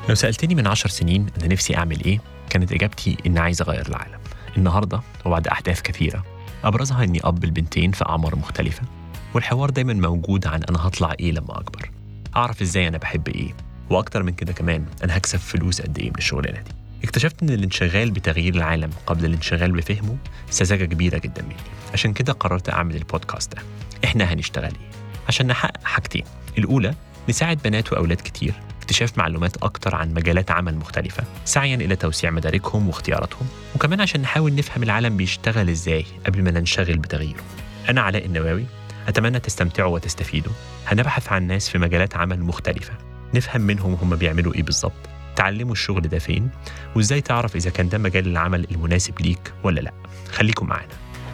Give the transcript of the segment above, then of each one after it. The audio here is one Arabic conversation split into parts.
لو سألتني من 10 سنين أنا نفسي أعمل إيه، كانت إجابتي إن عايز أغير العالم. النهاردة وبعد أحداث كثيرة أبرزها إني أب البنتين في أعمار مختلفة، والحوار دايما موجود عن أنا هطلع إيه لما أكبر، أعرف إزاي أنا بحب إيه، وأكتر من كده كمان أنا هكسب فلوس قد إيه من الشغلانة دي. اكتشفت إن الانشغال بتغيير العالم قبل الانشغال بفهمه سذاجة كبيرة جدا مني. عشان كده قررت أعمل البودكاست ده. إحنا هنشتغل إيه؟ عشان نحقق حاجتين. الأولى، نساعد بنات وأولاد كتير اكتشاف معلومات أكتر عن مجالات عمل مختلفة سعياً إلى توسيع مداركهم واختياراتهم، وكمان عشان نحاول نفهم العالم بيشتغل إزاي قبل ما ننشغل بتغييره. أنا علاء النواوي، أتمنى تستمتعوا وتستفيدوا. هنبحث عن ناس في مجالات عمل مختلفة، نفهم منهم هم بيعملوا إيه بالظبط، تعلموا الشغل ده فين، وإزاي تعرف إذا كان ده مجال العمل المناسب ليك ولا لأ. خليكم معنا.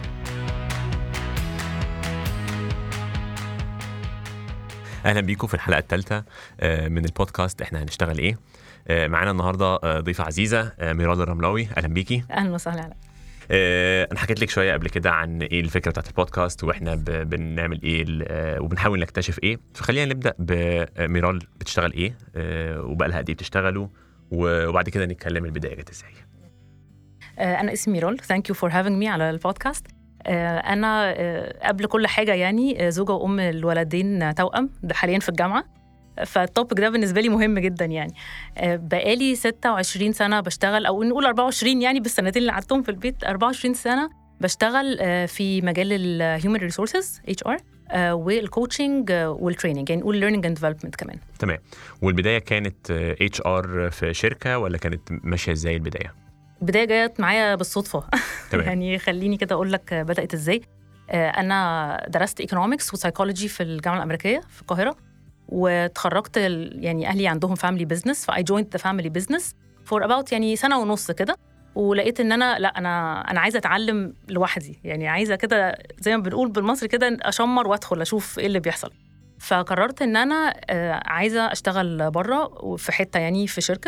أهلا بيكم في الحلقة الثالثة من البودكاست إحنا هنشتغل إيه. معانا النهاردة ضيفة عزيزة ميرال الرملاوي. أهلا بيكي. أهلا وسهلا. أنا حكيت لك شوية قبل كده عن إيه الفكرة بتاعت البودكاست وإحنا بنعمل إيه وبنحاول نكتشف إيه. فخلينا نبدأ بميرال بتشتغل إيه وبقى لها قد إيه بتشتغلوا، وبعد كده نتكلم البداية جت إزاي. أنا اسمي ميرال. Thank you for having me على البودكاست. أنا قبل كل حاجة يعني زوجة وأم الولدين توأم، ده حالياً في الجامعة، فالتوبك ده بالنسبة لي مهم جداً. يعني بقالي 26 سنة بشتغل، أو نقول 24 يعني بالسنتين اللي قعدتهم في البيت. 24 سنة بشتغل في مجال الهيومن ريسورسز HR والكوتشنج والتريننج، يعني نقول learning and development كمان. تمام. والبداية كانت HR في شركة ولا كانت ماشية إزاي البداية؟ البداية جاءت معايا بالصدفة. يعني خليني كده أقول لك بدأت إزاي. أنا درست economics وسايكولوجي في الجامعة الأمريكية في القاهرة، وتخرجت يعني أهلي عندهم family business، فI joined the family business for about يعني سنة ونص كده، ولقيت إن أنا عايزة أتعلم لوحدي، يعني عايزة كده زي ما بنقول بالمصري كده أشمر وأدخل أشوف إيه اللي بيحصل. فقررت إن أنا عايزة أشتغل برا في حتة، يعني في شركة.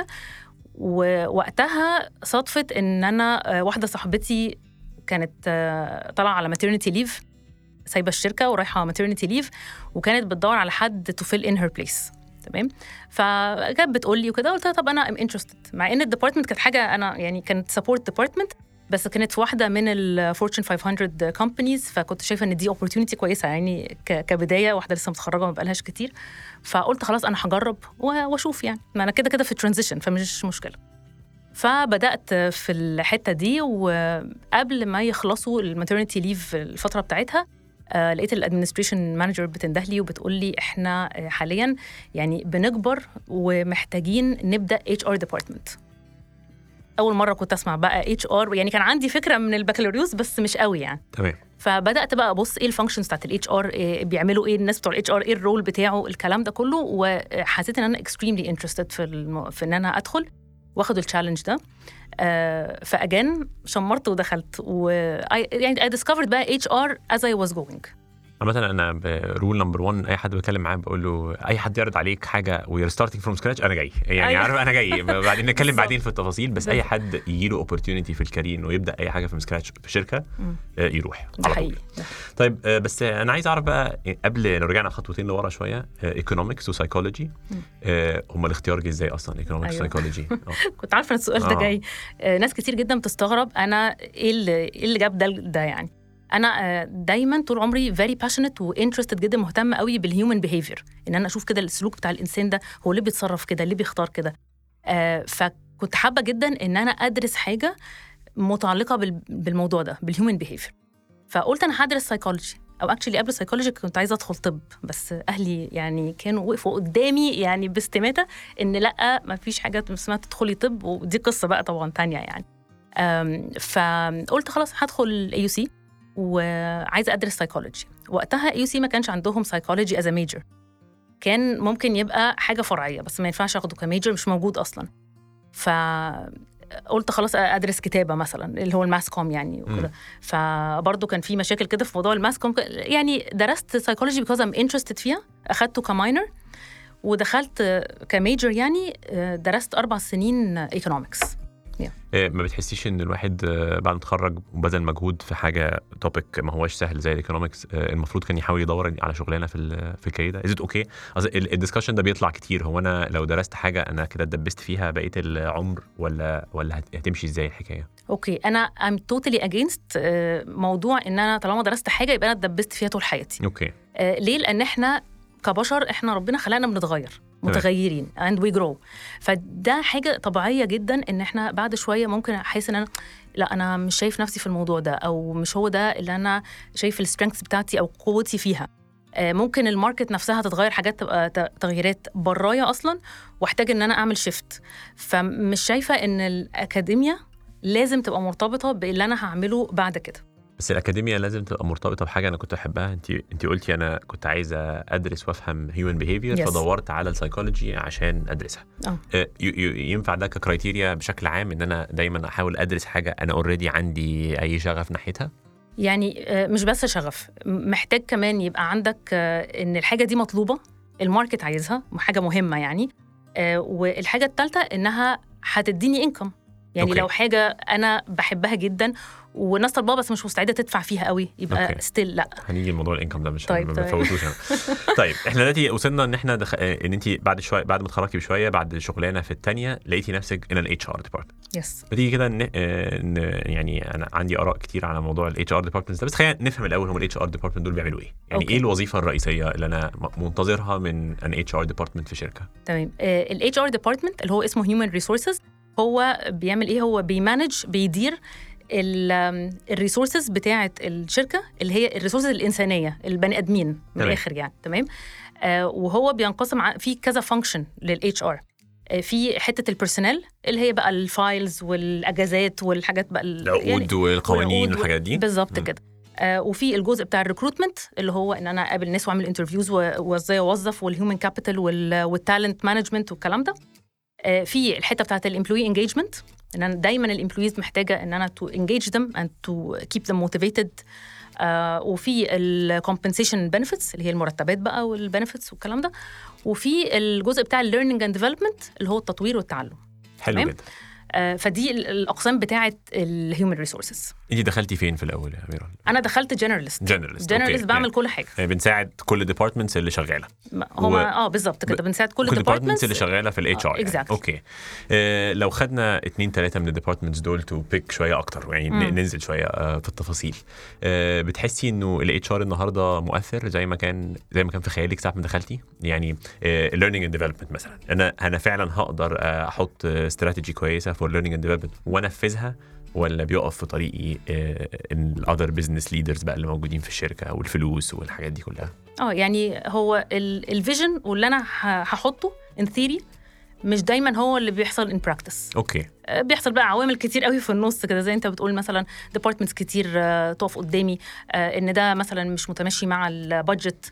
ووقتها صدفت إن أنا واحدة صاحبتي كانت طالعة على maternity leave، سايبة الشركة ورايحة maternity leave، وكانت بتدور على حد to fill in her place. تمام. فكانت بتقولي وكده، قلت لها طب أنا I'm interested، مع إن الديبارتمنت كانت حاجة أنا يعني كانت support department، بس كانت في واحدة من ال Fortune 500 companies، فكنت شايفة إن دي opportunity كويسة يعني كبداية، واحدة لسه متخرجة ما بقالهاش كتير. فقلت خلاص أنا هجرب وأشوف، يعني ما أنا كده في transition فمش مشكلة. فبدأت في الحتة دي، وقبل ما يخلصوا الماترنتي ليف الفترة بتاعتها لقيت الادمنستريشن مانجر بتندهلي وبتقول لي احنا حاليا يعني بنكبر ومحتاجين نبدأ HR ديبارتمنت. أول مرة كنت أسمع بقى HR، يعني كان عندي فكرة من البكالوريوس بس مش قوي يعني. تمام. فبدأت بقى أبص إيه الفانكشنز بتاعت الHR، بيعملوا إيه الناس بتوع الHR، إيه الرول بتاعه، الكلام ده كله. وحسيت إن أنا extremely interested في إن أنا أدخل واخد التشالنج ده. فأجان شمرت ودخلت، يعني I discovered بقى HR as I was going. مثلا انا رول نمبر 1 اي حد بكلم معاه بقول له اي حد يعرض عليك حاجه وير ستارتنج فروم سكراتش انا جاي، يعني عارف انا جاي. بعدين نتكلم بعدين في التفاصيل، بس اي حد يجي له اوبورتيونيتي في الكارير انه يبدا اي حاجه في سكراتش في شركه يروح على طول. طيب بس انا عايز اعرف بقى قبل لو رجعنا خطوتين لورا شويه، ايكونومكس وسايكولوجي هم الاختيار جه ازاي اصلا ايكونومكس وسايكولوجي؟ كنت عارفه السؤال ده جاي. ناس كتير جدا بتستغرب انا ايه اللي جاب ده يعني. أنا دايماً طول عمري very passionate و interested جدا، مهتمة قوي بالhuman behavior، إن أنا أشوف كده السلوك بتاع الإنسان ده، هو اللي بيتصرف كده، اللي بيختار كده. فكنت حابة جدا إن أنا أدرس حاجة متعلقة بالموضوع ده، بالhuman behavior. فقلت أنا هدرس psychology، أو actually قبل psychology كنت عايزة أدخل طب، بس أهلي يعني كانوا وقفوا قدامي يعني باستماتة إن لأ ما فيش حاجة اسمها تدخلي طب، ودي قصة بقى طبعاً تانية يعني. فقلت خلاص هدخل AUC وعايزة أدرس سايكولوجي. وقتها AUC ما كانش عندهم سايكولوجي as a major، كان ممكن يبقى حاجة فرعية بس ما ينفعش أخده كميجر، مش موجود أصلاً. فقلت خلاص أدرس كتابة مثلاً اللي هو الماس كوم يعني وكده. فبرضه كان في مشاكل كده في موضوع الماس كوم، يعني درست سايكولوجي because I'm interested فيها، أخدته كماينر ودخلت كميجر، يعني درست 4 سنين economics. ما بتحسيش ان الواحد بعد ما اتخرج وبذل مجهود في حاجه توبيك ما هوش سهل زي الايكونومكس المفروض كان يحاول يدور على شغلانه في الكارير ده؟ ازيد اوكي الدسكشن ده بيطلع كتير، هو انا لو درست حاجه انا كده اتدبست فيها بقيه العمر ولا هتمشي ازاي الحكايه؟ اوكي، انا I'm totally against موضوع ان انا طالما درست حاجه يبقى انا اتدبست فيها طول حياتي. اوكي. ليه؟ لان احنا كبشر احنا ربنا خلقنا بنتغير، متغيرين and we grow. فده حاجه طبيعيه جدا ان احنا بعد شويه ممكن احس ان انا لا انا مش شايف نفسي في الموضوع ده، او مش هو ده اللي انا شايف السترينثs بتاعتي او قوتي فيها. ممكن الماركت نفسها تتغير، حاجات تبقى تغييرات برايا اصلا واحتاج ان انا اعمل شيفت. فمش شايفه ان الاكاديميا لازم تبقى مرتبطه باللي انا هعمله بعد كده. بس الأكاديمية لازم تبقى مرتبطة بحاجة أنا كنت أحبها. أنت قلتي أنا كنت عايزة أدرس وأفهم human behavior فدورت على السايكولوجي عشان أدرسها. ينفع ده ككرايتيريا بشكل عام إن أنا دايما أحاول أدرس حاجة أنا already عندي أي شغف ناحيتها؟ يعني مش بس شغف، محتاج كمان يبقى عندك إن الحاجة دي مطلوبة، الماركت عايزها، حاجة مهمة يعني. والحاجة الثالثة إنها هتديني إنكم. يعني لو حاجة أنا بحبها جداً والناس طالباها بس مش مستعدة تدفع فيها قوي يبقى ستيل لا. هنيجي الموضوع الانكم ده مش طيب. ما بفوتوش أنا. طيب احنا دلوقتي وصلنا ان احنا ان انت بعد ما اتخرجتي بشويه بعد شغلانه في الثانيه لقيتي نفسك ان الاتش ار ديبارتمنت. يس. بتيجي كده يعني انا عندي اراء كتير على موضوع الاتش ار ديبارتمنت ده، بس خلينا نفهم الاول هم الاتش ار ديبارتمنت دول بيعملوا ايه؟ يعني ايه الوظيفه الرئيسيه اللي انا منتظرها من ان اتش ار ديبارتمنت في شركه؟ تمام. الاتش ار ديبارتمنت اللي هو اسمه هيومن ريسورسز هو بيعمل ايه؟ هو بيدير الريسورسز بتاعه الشركه اللي هي الريسورسز الانسانيه، البني ادمين من الاخر يعني. تمام. وهو بينقسم في كذا فانكشن للاتش ار. في حته البيرسونال اللي هي بقى الفايلز والاجازات والحاجات بقى العقود يعني والقوانين والحاجات دي بالظبط كده. وفي الجزء بتاع الريكروتمنت اللي هو ان انا اقابل ناس واعمل انترفيوز وازاي اوظف، والهيومن كابيتال والتالنت مانجمنت والكلام ده. في الحته بتاعه الامبلوي انجيجمنت ان انا دايما الامبلويز محتاجه ان انا تو انجيج ذم اند تو كيب ذم موتيفيتد. وفي الكومبنسيشن بنفيتس اللي هي المرتبات بقى والبنفيتس والكلام ده. وفي الجزء بتاع الليرنينج اند ديفلوبمنت اللي هو التطوير والتعلم. حلو جدا. فدي الاقسام بتاعه الهيومن ريسورسز. انت دخلتي فين في الاول يا اميره؟ انا دخلت جنراليست بعمل كل حاجه. بنساعد كل ديبارتمنتس اللي شغاله. هما بالظبط كده بنساعد كل ديبارتمنتس اللي شغاله في الاتش ار. يعني. اوكي. لو خدنا 2-3 من الديبارتمنتس دول تو بيك شويه اكتر يعني ننزل شويه في التفاصيل. بتحسي انه الاتش ار النهارده مؤثر زي ما كان في خيالك ساعه ما دخلتي؟ يعني الليرنينج اند ديفلوبمنت مثلا انا فعلا هقدر احط استراتيجي كويسه فور ليرنينج اند ديفلوبمنت وانفذها، ولا بيقف في طريقي الأذر بزنس ليدرز بقى اللي موجودين في الشركة والفلوس والحاجات دي كلها؟ يعني هو الفيجن واللي أنا هحطه in theory مش دايما هو اللي بيحصل in practice. أوكي. بيحصل بقى عوامل كتير قوي في النص كده زي انت بتقول، مثلا departments كتير تقف قدامي ان ده مثلا مش متماشي مع البادجت،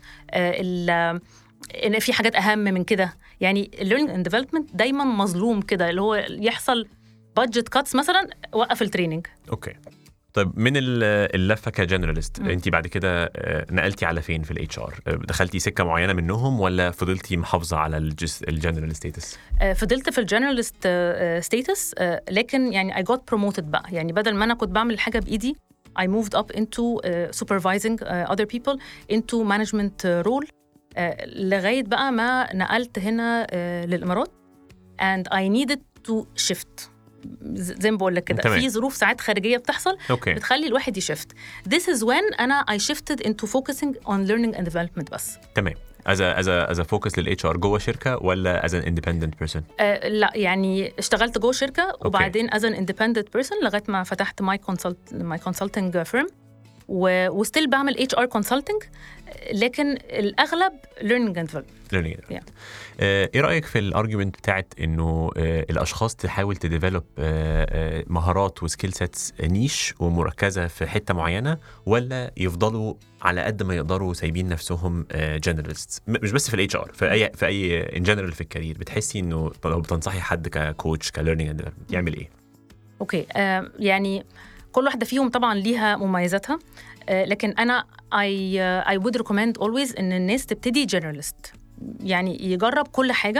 ان في حاجات أهم من كده. يعني learning and development دايما مظلوم كده، اللي هو يحصل بادجت كاتس مثلا وقف التريننج. اوكي. طيب من اللفه كجنراليست انت بعد كده نقلتي على فين في الاتش ار؟ دخلتي سكه معينه منهم ولا فضلتي محافظه على الجنرال ستاتس؟ فضلت في الجنراليست ستاتس، لكن يعني I got promoted بقى. يعني بدل ما انا كنت بعمل الحاجه بايدي I moved up into supervising other people into management role لغايه بقى ما نقلت هنا للامارات and I needed to shift. زي ما بقول لك كده في ظروف ساعات خارجيه بتحصل بتخلي الواحد يشفت. This is when انا I shifted into focusing on learning and development بس. تمام. as a focus للاتش ار جوه شركه ولا as an independent person؟ لا يعني اشتغلت جوه شركه وبعدين as an independent person لغايه ما فتحت my consulting firm وستيل بعمل HR consulting، لكن الأغلب learning and development. إيه رأيك في الارجيومنت بتاعت إنه الأشخاص تحاول تديفلوب مهارات وسكيل سيتس نيش ومركزة في حتة معينة، ولا يفضلوا على قد ما يقدروا سايبين نفسهم جنراليست؟ مش بس في الاتش ار، في أي ان جنرال في الكارير. بتحسي إنه لو بتنصحي حد ككوتش كليرنينج اند ديفلوبمنت يعمل إيه؟ أوكي. يعني كل واحدة فيهم طبعاً ليها مميزاتها، لكن أنا I would recommend always إن الناس تبتدي generalist، يعني يجرب كل حاجة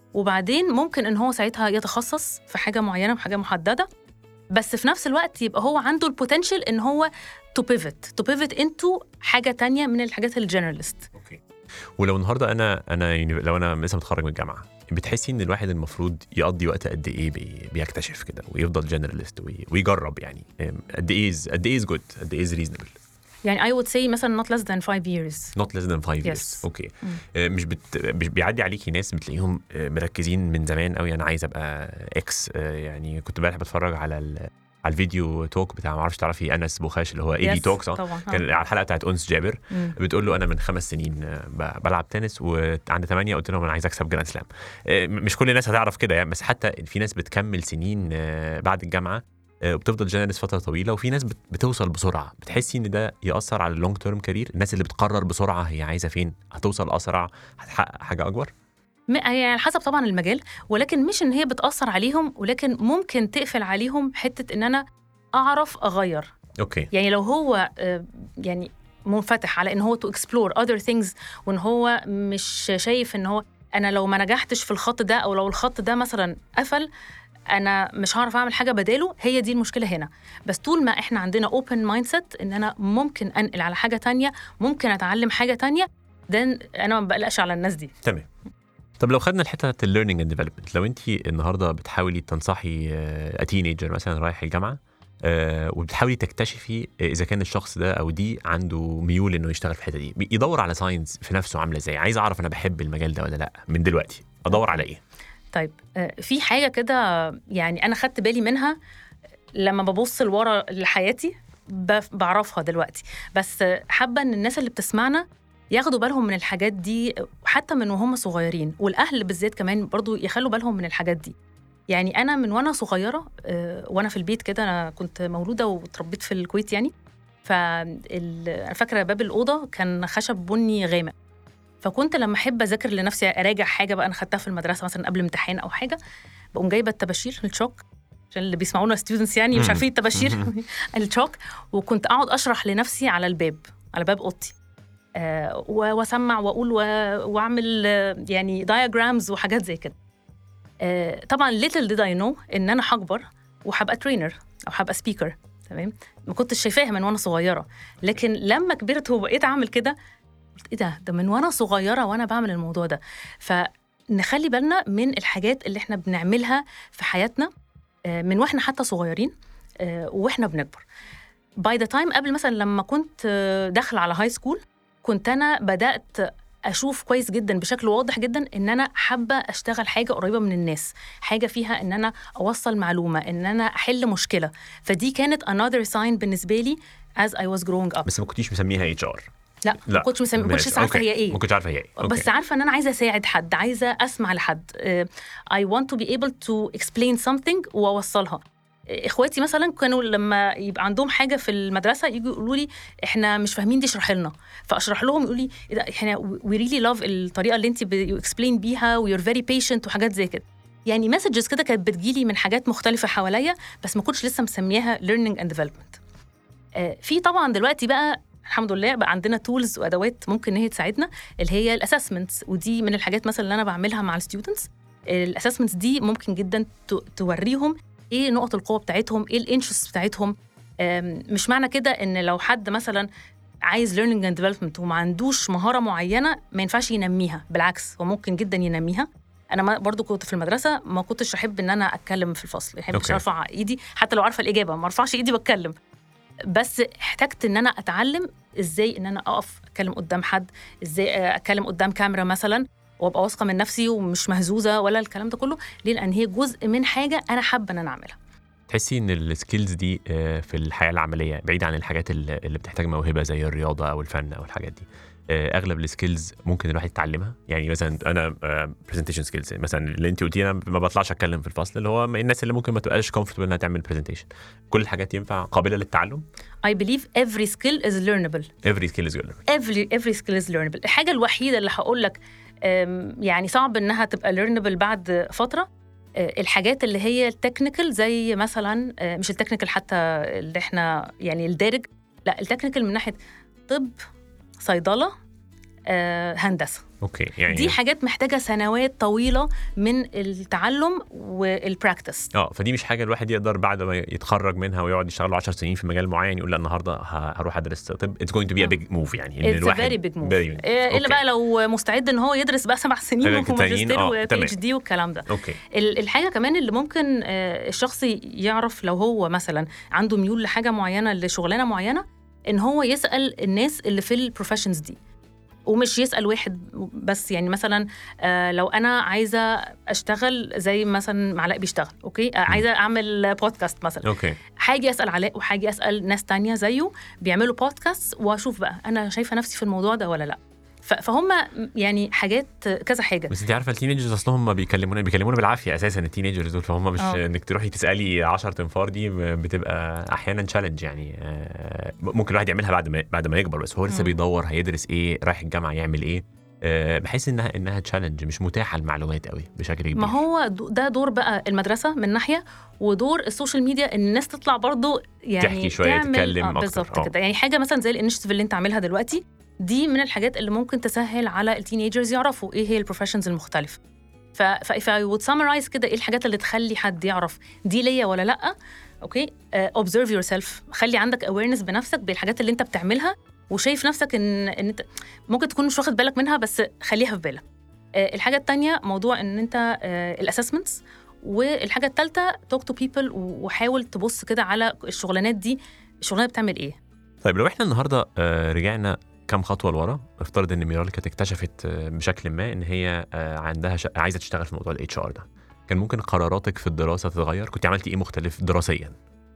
وبعدين ممكن إن هو ساعتها يتخصص في حاجة معينة وحاجة محددة، بس في نفس الوقت يبقى هو عنده البوتنشال إن هو to pivot into حاجة تانية من الحاجات الجنراليست. اوكي. ولو النهارده انا يعني لو انا لسه متخرج من الجامعه، بتحسي ان الواحد المفروض يقضي وقت قد ايه بيكتشف كده ويفضل جنراليست ويجرب؟ يعني قد ايه از جود، قد ايه از ريزونبل؟ يعني I would say مثلا not less than 5 years. not less than 5 years. اوكي. مش بيعدي عليكي ناس بتلاقيهم مركزين من زمان قوي، انا عايز ابقى اكس. يعني كنت امبارح بتفرج على الفيديو توك بتاع، ما اعرفش تعرفي انس بوخاش اللي هو اي بي توك، صح؟ كان على الحلقه بتاعت انس جابر. بتقول له انا من 5 سنين بلعب تنس، وعند 8 قلت لهم انا عايز اكسب جراند سلام. مش كل الناس هتعرف كده يعني، بس حتى في ناس بتكمل سنين بعد الجامعه وبتفضل جنراليست فتره طويله، وفي ناس بتوصل بسرعه. بتحسي ان ده ياثر على اللونج تيرم كارير؟ الناس اللي بتقرر بسرعه هي عايزه فين، هتوصل اسرع، هتحقق حاجه اكبر؟ يعني على حسب طبعا المجال، ولكن مش ان هي بتاثر عليهم، ولكن ممكن تقفل عليهم حته ان انا اعرف اغير. اوكي. يعني لو هو يعني منفتح على ان هو to explore other things، وان هو مش شايف ان هو انا لو ما نجحتش في الخط ده، او لو الخط ده مثلا قفل انا مش هعرف اعمل حاجه بداله، هي دي المشكله هنا. بس طول ما احنا عندنا open mindset ان انا ممكن انقل على حاجه تانية، ممكن اتعلم حاجه تانية، ده انا ما بقلقش على الناس دي. تمام. طب لو خدنا الحته بتاعت الليرنينج اند ديفلوبمنت، لو انت النهارده بتحاولي تنصحي تينيجر مثلا رايح الجامعه وبتحاولي تكتشفي اذا كان الشخص ده او دي عنده ميول انه يشتغل في الحته دي، يدور على ساينس في نفسه عامله ازاي؟ عايز اعرف انا بحب المجال ده ولا لا من دلوقتي، ادور على ايه؟ طيب في حاجه كده يعني انا خدت بالي منها لما ببص لورا لحياتي، بعرفها دلوقتي، بس حابه ان الناس اللي بتسمعنا ياخدوا بالهم من الحاجات دي حتى من وهم صغيرين، والاهل بالذات كمان برضو يخلوا بالهم من الحاجات دي. يعني انا من وانا صغيره وانا في البيت كده، انا كنت مولوده وتربيت في الكويت يعني، انا فاكره باب الاوضه كان خشب بني غامق، فكنت لما احب اذاكر لنفسي اراجع حاجه بقى انا خدتها في المدرسه مثلا قبل امتحان او حاجه، بقوم جايبه الطباشير الشوك، عشان اللي بيسمعونا ستودنتس يعني مش عارفين الطباشير الشوك، وكنت اقعد اشرح لنفسي على الباب، على باب اوضتي، واسمع واقول واعمل يعني diagrams وحاجات زي كده. طبعا little did I know ان انا هكبر وهبقى ترينر او هبقى سبيكر. تمام. ما كنتش شايفاها من وانا صغيره، لكن لما كبرت وبقيت اعمل كده قلت ايه ده من وانا صغيره وانا بعمل الموضوع ده. فنخلي بالنا من الحاجات اللي احنا بنعملها في حياتنا من واحنا حتى صغيرين واحنا بنكبر. باي ذا تايم قبل مثلا لما كنت داخله على هاي سكول، كنت انا بدات اشوف كويس جدا بشكل واضح جدا ان انا حابه اشتغل حاجه قريبه من الناس، حاجه فيها ان انا اوصل معلومه، ان انا احل مشكله. فدي كانت another sign بالنسبه لي as I was growing up. بس ما كنتيش مسميها HR؟ لا ما كنتش عارفه هي ايه. ما كنتش عارفه هي ايه. بس عارفه ان انا عايزه اساعد حد، عايزه اسمع لحد. I want to be able to explain something واوصلها. اخواتي مثلا كانوا لما يبقى عندهم حاجه في المدرسه يجوا يقولوا لي احنا مش فاهمين دي اشرح لنا، فاشرح لهم يقولوا لي احنا we really love الطريقه اللي انت explain بيها و you're very patient وحاجات زي كده. يعني مسجز كده كانت بتجيلي من حاجات مختلفه حواليا، بس ما كنتش لسه مسميها learning and development. في طبعا دلوقتي بقى الحمد لله بقى عندنا تولز وادوات ممكن ان هي تساعدنا، اللي هي الاسسمنتس، ودي من الحاجات مثلا اللي انا بعملها مع الستودنتس. الاسسمنتس دي ممكن جدا توريهم ايه نقط القوه بتاعتهم، ايه الانترست بتاعتهم. مش معنى كده ان لو حد مثلا عايز learning and development وما عندوش مهاره معينه ما ينفعش ينميها، بالعكس هو ممكن جدا ينميها. انا برضو كنت في المدرسه ما كنتش احب ان انا اتكلم في الفصل، احب ارفع ايدي حتى لو عارفه الاجابه، ما ارفعش ايدي بتكلم. بس احتجت ان انا اتعلم ازاي ان انا اقف اتكلم قدام حد، ازاي اتكلم قدام كاميرا مثلا وابقى واثقه من نفسي ومش مهزوزه ولا الكلام ده كله. ليه؟ لان هي جزء من حاجه انا حابه ان انا اعملها. تحسي ان السكيلز دي في الحياه العمليه بعيد عن الحاجات اللي بتحتاج موهبه زي الرياضه او الفن او الحاجات دي، اغلب السكيلز ممكن الواحد يتعلمها؟ يعني مثلا انا برزنتيشن سكيلز مثلا اللي انت قلتي انا ما بطلعش اتكلم في الفصل، اللي هو الناس اللي ممكن ما تبقاش كومفورتبل انها تعمل برزنتيشن، كل الحاجات ينفع قابله للتعلم؟ I believe every skill is learnable. Every skill is learnable. Every skill is learnable. الحاجه الوحيده اللي هقول لك يعني صعب انها تبقى learnable بعد فتره الحاجات اللي هي التكنيكال، زي مثلا مش التكنيكال حتى اللي احنا يعني الدارج، لا التكنيكال من ناحيه طب، صيدله، هندسه. اوكي يعني دي حاجات محتاجه سنوات طويله من التعلم والبراكتس. فدي مش حاجه الواحد يقدر بعد ما يتخرج منها ويقعد يشتغل 10 سنين في مجال معين يقول لا النهارده هروح ادرس طب. It's going to be a big move يعني ان الواحد very big move. الا بقى لو مستعد ان هو يدرس بقى 7 سنين وماجستير وبي اتش دي والكلام ده. الحاجه كمان اللي ممكن الشخص يعرف لو هو مثلا عنده ميول لحاجه معينه لشغلانه معينه ان هو يسال الناس اللي في البروفيشنز دي ومش يسأل واحد بس. يعني مثلا لو أنا عايزة أشتغل زي مثلا علاء بيشتغل أوكي عايزة أعمل بودكاست مثلا حاجة أسأل علاء وحاجة أسأل ناس تانية زيه بيعملوا بودكاست وأشوف بقى أنا شايفة نفسي في الموضوع ده ولا لأ. فهم يعني حاجات كذا حاجه. بس انت عارفه التينيجرز اصلهم بيكلمونا بالعافيه اساسا التينيجرز دول فهم مش انك تروحي تسالي 10 تنفار دي بتبقى احيانا تشالنج يعني ممكن الواحد يعملها بعد ما يكبر بس هو لسه بيدور هيدرس ايه رايح الجامعه يعمل ايه بحيث انها تشالنج مش متاحه المعلومات قوي بشكل كبير. ما هو ده دور بقى المدرسه من ناحيه ودور السوشيال ميديا ان الناس تطلع برضو يعني تحكي شويه تتكلم اكتر بالظبط كده. يعني حاجه مثلا زي الانشيتيف اللي انت عاملها دلوقتي دي من الحاجات اللي ممكن تسهل على التينيجرز يعرفوا ايه هي البروفيشنز المختلفه. if I would summarize كده ايه الحاجات اللي تخلي حد يعرف دي ليا ولا لا. اوكي observe yourself خلي عندك awareness بنفسك بالحاجات اللي انت بتعملها وشايف نفسك ان انت ممكن تكون مش واخد بالك منها بس خليها في بالك. الحاجه الثانيه موضوع ان انت الاسسمنتس. والحاجه الثالثه talk to people وحاول تبص كده على الشغلانات دي الشغلانه بتعمل ايه. طيب لو احنا النهارده رجعنا كم خطوه لورا افترض ان ميرال كانت اكتشفت بشكل ما ان هي عندها عايزه تشتغل في موضوع الاتش ار ده كان ممكن قراراتك في الدراسه تتغير؟ كنت عملتي ايه مختلف دراسيا؟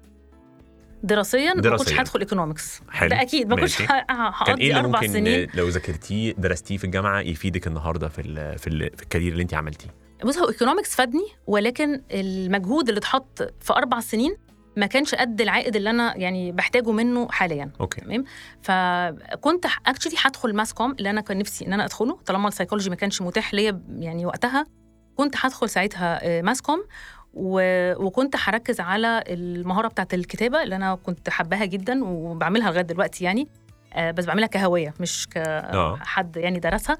ما كنتش هدخل ايكونومكس ده اكيد ما كنتش هقضي 4 سنين. لو ذاكرتيه درستيه في الجامعه يفيدك النهارده في الكارير اللي انت عملتيه؟ بص هو ايكونومكس فادني ولكن المجهود اللي اتحط في 4 سنين ما كانش قد العائد اللي انا يعني بحتاجه منه حاليا. تمام. فكنت اكشلي هدخل ماس كوم اللي انا كان نفسي ان انا ادخله طالما السايكولوجي ما كانش متاح ليا يعني وقتها كنت هدخل ساعتها ماس كوم وكنت هركز على المهاره بتاعه الكتابه اللي انا كنت حباها جدا وبعملها لغايه دلوقتي يعني بس بعملها كهويه مش كحد يعني درسها.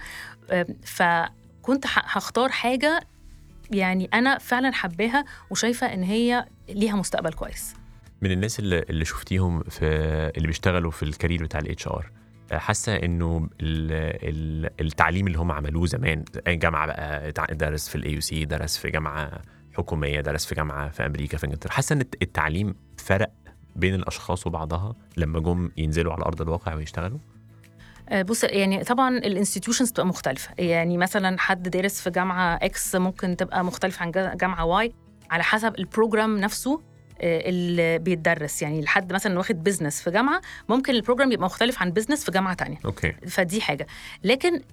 فكنت هختار حاجه يعني أنا فعلاً حباها وشايفة إن هي ليها مستقبل كويس. من الناس اللي شفتيهم اللي بيشتغلوا في الكارير بتاع الاتش ار حاسة إنه التعليم اللي هم عملوه زمان جامعة بقى درس في الاي يو سي درس في جامعة حكومية درس في جامعة في أمريكا في إنجلترا حاسة إن التعليم فرق بين الأشخاص وبعضها لما جم ينزلوا على أرض الواقع ويشتغلوا؟ بص يعني طبعا الانستيتيوشنز بتبقى مختلفه. يعني مثلا حد دارس في جامعه اكس ممكن تبقى مختلف عن جامعه واي على حسب البروجرام نفسه اللي بيتدرس. يعني لحد مثلا واخد بيزنس في جامعه ممكن البروجرام يبقى مختلف عن بيزنس في جامعه تانية. فدي حاجه. لكن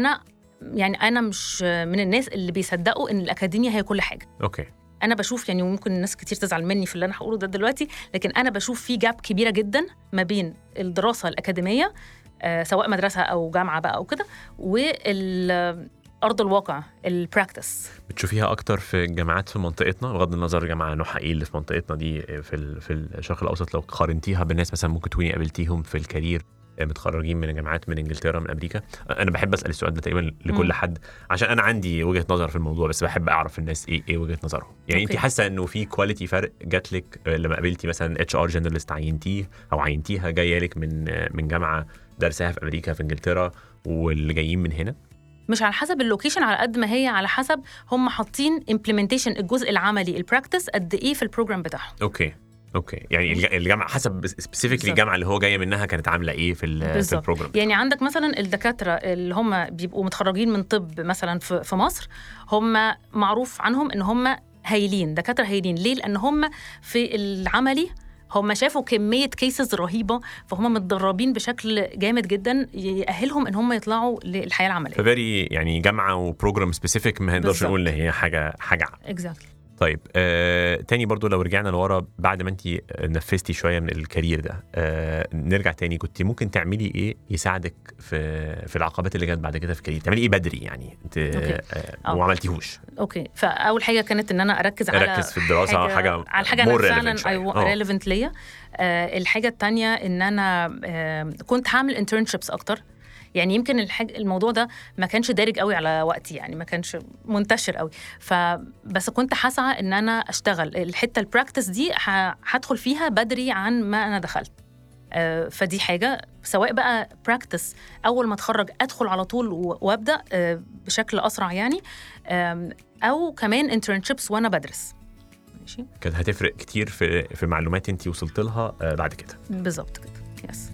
انا مش من الناس اللي بيصدقوا ان الاكاديميا هي كل حاجه. انا بشوف يعني ممكن الناس كتير تزعل مني في اللي انا هقوله ده دلوقتي لكن انا بشوف في جاب كبيره جدا ما بين الدراسه الاكاديميه سواء مدرسة أو جامعة بقى أو كده والأرض الواقع البراكتس. بتشوفيها أكتر في الجامعات في منطقتنا بغض النظر جامعة نوعها إيه اللي في منطقتنا دي في الشرق الأوسط لو قارنتيها بالناس مثلا ممكن تكوني قابلتيهم في الكارير متخرجين من جامعات من إنجلترا من أمريكا؟ أنا بحب أسأل السؤال ده تقريبا لكل حد عشان أنا عندي وجهة نظر في الموضوع بس بحب أعرف الناس إيه وجهة نظرهم. يعني أنت حاسة إنه في كواليتي فرق جاتلك لما قابلتي مثلا اتش ار جنرالست عينتيها جاية لك من جامعة درسها في أمريكا في إنجلترا واللي جايين من هنا؟ مش على حسب اللوكيشن على قد ما هي على حسب هم حاطين implementation الجزء العملي البراكتس قد إيه في البروجرام بتاعهم. اوكي يعني الجامعه حسب سبيسيفيكلي الجامعه اللي هو جايه منها كانت عامله ايه في البروجرام. يعني عندك مثلا الدكاتره اللي هم بيبقوا متخرجين من طب مثلا في مصر هم معروف عنهم ان هم هايلين دكاتره هايلين. ليه؟ لان هم في العملي هم شافوا كميه كيسز رهيبه فهم متدربين بشكل جامد جدا يأهلهم ان هم يطلعوا للحياه العمليه. فبري يعني جامعه وبروجرام سبيسيفيك ما نقدرش نقول ان هي حاجه اكزاكتلي. طيب تاني برضو لو رجعنا لورا بعد ما انت نفذتي شويه من الكارير ده نرجع تاني كنت ممكن تعملي ايه يساعدك في العقبات اللي جت بعد كده في الكارير؟ تعملي ايه بدري يعني انت وما عملتيهوش؟ فاول حاجه كانت ان انا اركز في الدراسه على حاجه فعلا ريليفنت ليا. الحاجه الثانيه ان انا كنت هعمل انترنشيبس اكتر. يعني يمكن الموضوع ده ما كانش دارج قوي على وقتي، يعني ما كانش منتشر قوي، فبس كنت حاسة ان انا اشتغل الحتة البراكتس دي هدخل فيها بدري عن ما انا دخلت. فدي حاجة، سواء بقى براكتس أول ما أتخرج أدخل على طول وأبدأ بشكل أسرع يعني، أو كمان internships وأنا بدرس. ماشي، كانت هتفرق كتير في معلومات أنتي وصلت لها بعد كده. بالظبط كده. يس.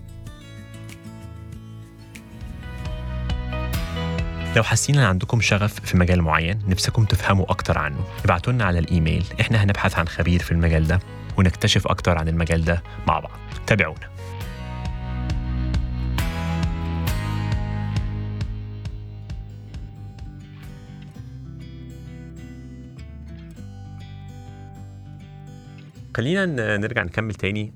لو حاسين ان عندكم شغف في مجال معين نفسكم تفهموا اكتر عنه، ابعتوا لنا على الايميل، احنا هنبحث عن خبير في المجال ده ونكتشف اكتر عن المجال ده مع بعض. تابعونا. خلينا نرجع نكمل تاني.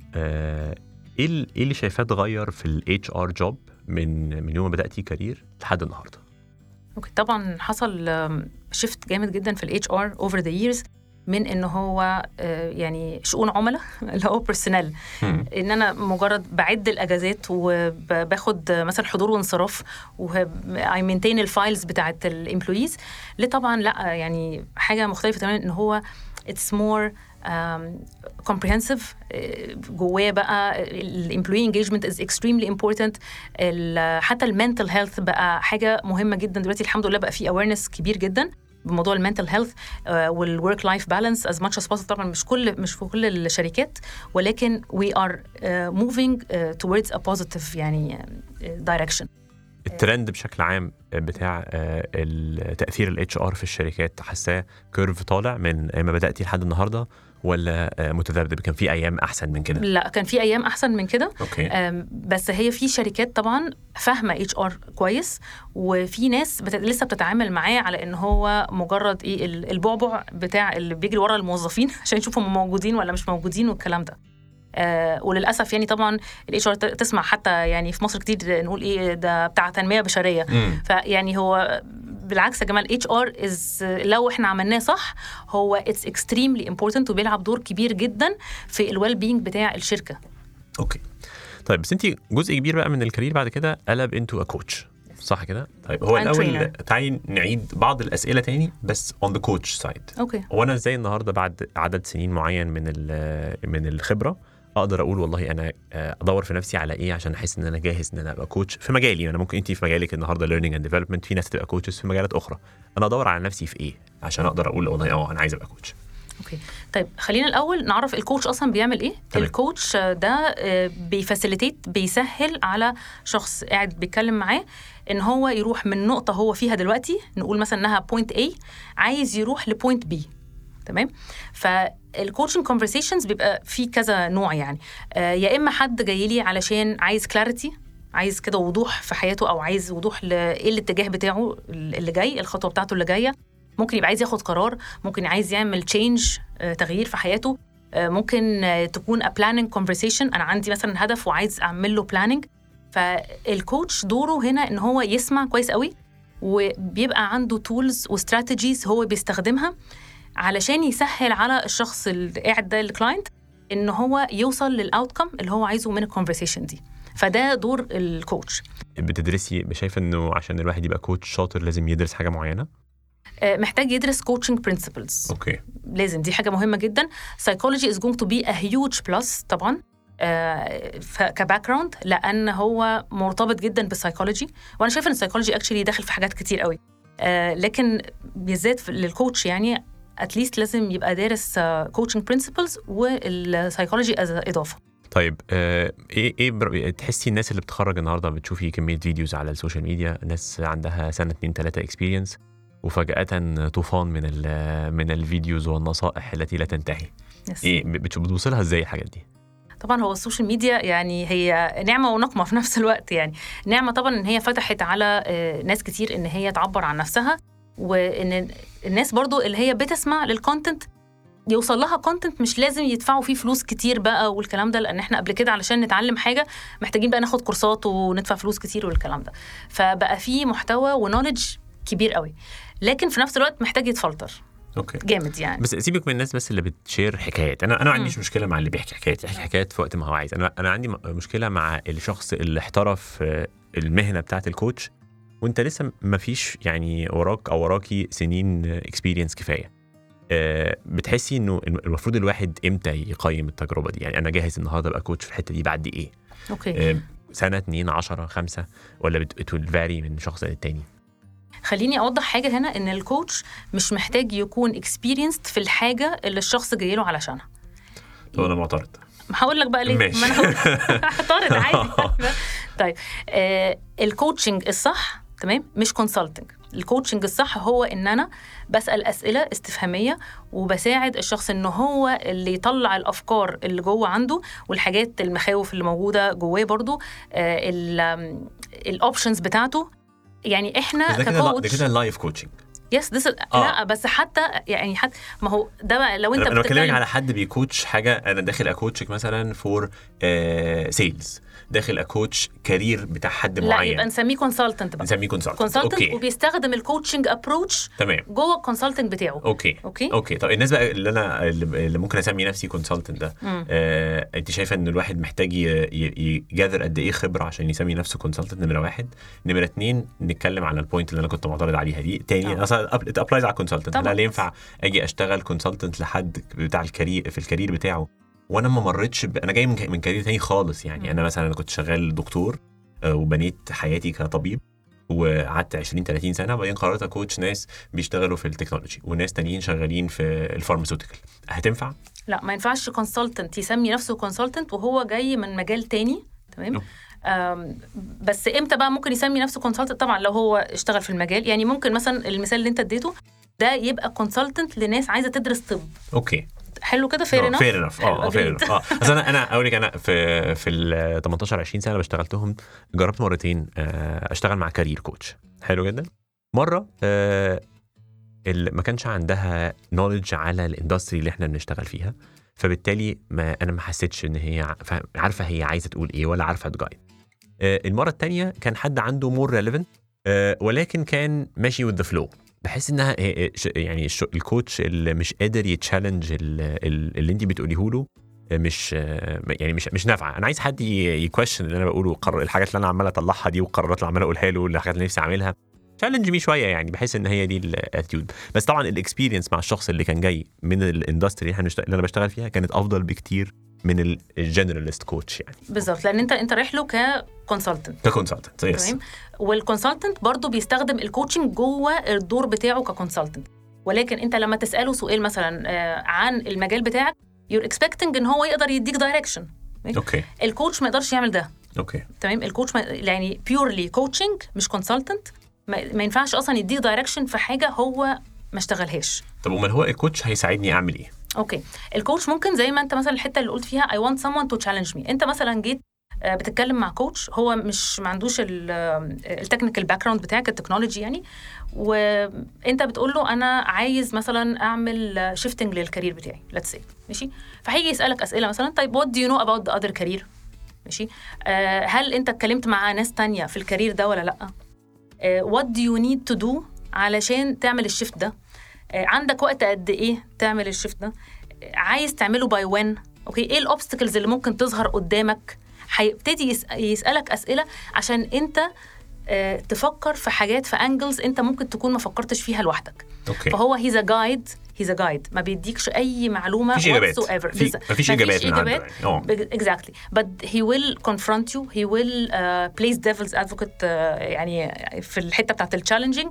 ايه اللي شايفاه اتغير في الاتش ار جوب من يوم ما بداتي كارير لحد النهارده؟ اوكي، طبعا حصل شيفت جامد جدا في الاتش ار اوفر ذا ييرز، من ان هو يعني شؤون عملاء اللي هو بيرسونال، ان انا مجرد بعد الاجازات وباخد مثلا حضور وانصراف واي مينتين الفايلز بتاعه الامبلويز، طبعا لا يعني حاجه مختلفه تماما، ان هو اتس مور comprehensive. جواه بقى الامبلوي engagement is extremely important. حتى المنتل هيلث بقى حاجه مهمه جدا دلوقتي، الحمد لله بقى في awareness كبير جدا بموضوع المنتل هيلث والwork life balance as much as possible. طبعا مش في كل الشركات، ولكن we are moving towards a positive يعني direction. الترند بشكل عام بتاع تأثير الاتش ار في الشركات، حاساه كيرف طالع من ما بدأتي لحد النهارده، ولا متذبذب؟ كان في ايام احسن من كده؟ لا، كان في ايام احسن من كده. بس هي في شركات طبعا فاهمه اتش ار كويس، وفي ناس لسه بتتعامل معاه على ان هو مجرد ايه البعبع بتاع اللي بيجري ورا الموظفين عشان يشوفوا هم موجودين ولا مش موجودين والكلام ده. وللاسف يعني طبعا الاتش ار تسمع حتى يعني في مصر كتير نقول ايه ده بتاع تنميه بشريه. فيعني هو بالعكس يا جماعه، الاتش ار لو احنا عملناه صح هو اتس اكستريملي امبورتنت، وبيلعب دور كبير جدا في الويل بينج بتاع الشركه. اوكي طيب، بس انت جزء كبير بقى من الكارير بعد كده قلب انتو كوتش، صح كده؟ طيب هو الاول تعالي نعيد بعض الاسئله تاني بس on the coach side. اوكي، وانا ازاي النهارده بعد عدد سنين معين من الخبره اقدر اقول والله انا ادور في نفسي على ايه عشان احس ان انا جاهز ان انا ابقى كوتش في مجالي؟ انا ممكن انت في مجالك النهارده learning and development، في ناس تبقى كوتشز في مجالات اخرى، انا ادور على نفسي في ايه عشان اقدر اقول والله انا عايز ابقى كوتش. اوكي طيب، خلينا الاول نعرف الكوتش اصلا بيعمل ايه. الكوتش ده بيفاسيليتيت، بيسهل على شخص قاعد بيتكلم معاه ان هو يروح من نقطه هو فيها دلوقتي، نقول مثلا انها بوينت A، عايز يروح لبوينت B. تمام؟ فالكوتشنج كونفرسيشنز بيبقى في كذا نوع يعني. يا اما حد جاي لي علشان عايز كلاريتي، عايز كده وضوح في حياته، او عايز وضوح لايه الاتجاه بتاعه اللي جاي، الخطوه بتاعته اللي جايه. ممكن يبقى عايز ياخد قرار، ممكن عايز يعمل تشينج، تغيير في حياته. ممكن تكون a planning conversation، انا عندي مثلا هدف وعايز اعمل له planning. فالكوتش دوره هنا ان هو يسمع كويس قوي، وبيبقى عنده tools وستراتيجيز هو بيستخدمها علشان يسهل على الشخص اللي قاعد ده الكلاينت ان هو يوصل للاوتكم اللي هو عايزه من الكونفرسيشن دي. فده دور الكوتش. بتدرسي، شايفه انه عشان الواحد يبقى كوتش شاطر لازم يدرس حاجه معينه؟ محتاج يدرس coaching principles. اوكي، لازم، دي حاجه مهمه جدا. psychology is going to be a huge plus طبعا كباكراوند، لان هو مرتبط جدا بالسايكولوجي، وانا شايفه ان السايكولوجي اكشلي داخل في حاجات كتير قوي. لكن بالذات للكوتش يعني اتليست لازم يبقى دارس coaching principles والسايكولوجي اضافه. طيب ايه تحسي الناس اللي بتخرج النهارده، بتشوفي كميه فيديوز على السوشيال ميديا، ناس عندها سنه 2-3 اكسبيرينس وفجاه طوفان من الفيديوز والنصائح التي لا تنتهي. ايه بتوصلها ازاي الحاجات دي؟ طبعا هو السوشيال ميديا يعني هي نعمه ونقمه في نفس الوقت. يعني نعمه طبعا ان هي فتحت على ناس كتير ان هي تعبر عن نفسها، وان الناس برضو اللي هي بتسمع للكونتنت يوصل لها كونتنت مش لازم يدفعوا فيه فلوس كتير بقى والكلام ده، لان احنا قبل كده علشان نتعلم حاجه محتاجين بقى ناخد كورسات وندفع فلوس كتير والكلام ده. فبقى فيه محتوى ونوليدج كبير قوي، لكن في نفس الوقت محتاج يتفلتر. اوكي جامد يعني. بس سيبك من الناس بس اللي بتشير حكايات. انا ما عنديش مشكله مع اللي بيحكي حكايات في وقت ما هو عايز. انا عندي مشكله مع الشخص اللي احترف المهنه بتاعت الكوتش وانت لسه ما فيش يعني وراك او وراكي سنين اكسبيرينس كفايه، بتحسي انه المفروض الواحد امتى يقيم التجربه دي؟ يعني انا جاهز النهارده ابقى كوتش في الحته دي بعد ايه؟ اوكي. سنه 2 10 5 ولا بتفاري من شخص للتاني؟ خليني اوضح حاجه هنا، ان الكوتش مش محتاج يكون اكسبيرينسد في الحاجه اللي الشخص جاي له علشانها. طب انا معترض. هقول لك بقى ليه. ما انا هعترض عادي. طيب الكوتشنج الصح تمام مش كونسلتنج. الكوتشنج الصح هو ان انا بسأل اسئله استفهاميه وبساعد الشخص ان هو اللي يطلع الافكار اللي جوه عنده والحاجات المخاوف اللي موجوده جواه برضو، الاوبشنز بتاعته. يعني احنا ككوتش ده كده اللايف كوتشنج. يس لا بس حتى يعني حتى ما هو ده بقى لو انت انا بكلمك على حد بيكوتش حاجه، انا داخل اكوتشك مثلا فور سيلز، داخل اكوتش كارير بتاع حد معين، لا يبقى نسميه كونسلتنت بقى. نسميه كونسلتنت وبيستخدم الكوتشنج ابروتش جوه الكونسلتنت بتاعه. اوكي. طب الناس بقى اللي ممكن اسمي نفسي كونسلتنت ده، انت شايفه ان الواحد محتاج يجاذر قد ايه خبره عشان يسمي نفسه كونسلتنت؟ نمره 1. نمره 2 نتكلم على البوينت اللي انا كنت معترض عليها دي تاني. اصلا ابلايز على الكونسلتنت. لا ينفع اجي اشتغل كونسلتنت لحد بتاع الكارير في الكارير بتاعه وانا ما مرتش انا جاي من كارير تاني خالص. يعني انا مثلا كنت شغال دكتور وبنيت حياتي كطبيب وقعدت 20-30 سنه، وبعدين قررت اكوتش ناس بيشتغلوا في التكنولوجي وناس تانيين شغالين في الفارماسيوتيكال. هتنفع؟ لا ما ينفعش كونسلتنت يسمي نفسه كونسلتنت وهو جاي من مجال تاني. تمام. بس امتى بقى ممكن يسمي نفسه كونسلتنت؟ طبعا لو هو اشتغل في المجال. يعني ممكن مثلا المثال اللي انت اديته ده يبقى كونسلتنت لناس عايزه تدرس طب. اوكي حلو كده. فير انف. فير انف. بس انا اقول لك، انا في ال 18 20 سنه بشتغلتهم، جربت مرتين اشتغل مع كارير كوتش. حلو جدا. مره اللي ما كانش عندها نوليدج على الاندستري اللي احنا بنشتغل فيها، فبالتالي انا ما حسيتش ان هي عارفه هي عايزه تقول ايه ولا عارفه تجايد. المره الثانيه كان حد عنده مور ريليفنت ولكن كان ماشي with the flow. بحس انها يعني الكوتش اللي مش قادر يتشالنج اللي انت بتقوليه له مش يعني مش نافعه. انا عايز حد يكويشن اللي انا بقوله، الحاجات اللي انا عمال اطلعها دي والقرارات اللي عمال اقولها له والحاجات اللي نفسي اعملها، تشالنج مي شويه. يعني بحس ان هي دي الاتيتيود. بس طبعا الاكسبيرينس مع الشخص اللي كان جاي من الاندستري اللي انا بشتغل فيها كانت افضل بكتير من الجنراليست كوتش. يعني بالظبط، لان انت رايح له ككونسلتنت. تمام. والكونسلتنت برضو بيستخدم الكوتشنج جوه الدور بتاعه ككونسلتنت، ولكن انت لما تساله سؤال مثلا عن المجال بتاعك you're expecting ان هو يقدر يديك دايركشن. اوكي. الكوتش ما يقدرش يعمل ده. اوكي تمام. الكوتش يعني بيورلي كوتشنج مش كونسلتنت، ما ينفعش اصلا يديك دايركشن في حاجه هو ما اشتغلهاش. طب امال هو الكوتش هيساعدني اعمل ايه؟ اوكي. الكوتش ممكن زي ما انت مثلا الحته اللي قلت فيها I want someone to challenge me. انت مثلا جيت بتتكلم مع كوتش هو مش ما عندوش التكنيكال باك جراوند بتاعك التكنولوجي يعني، وانت بتقول له انا عايز مثلا اعمل شيفتنج للكارير بتاعي let's say. ماشي. فهيجي يسالك اسئله مثلا طيب what do you know about the other career؟ ماشي. هل انت اتكلمت مع ناس تانية في الكارير ده ولا لا؟ what do you need to do علشان تعمل الشيفت ده؟ عندك وقت قد ايه تعمل الشيفت ده؟ عايز تعمله باي وين؟ اوكي. ايه الاوبستكلز اللي ممكن تظهر قدامك؟ هيبتدي يسألك أسئلة عشان انت تفكر في حاجات في انجلز انت ممكن تكون ما فكرتش فيها لوحدك. أوكي. فهو he's a guide ما بيديكش اي معلومة مفيش إجابات exactly but he will confront you, he will place devil's advocate يعني في الحتة بتاعت الchallenging.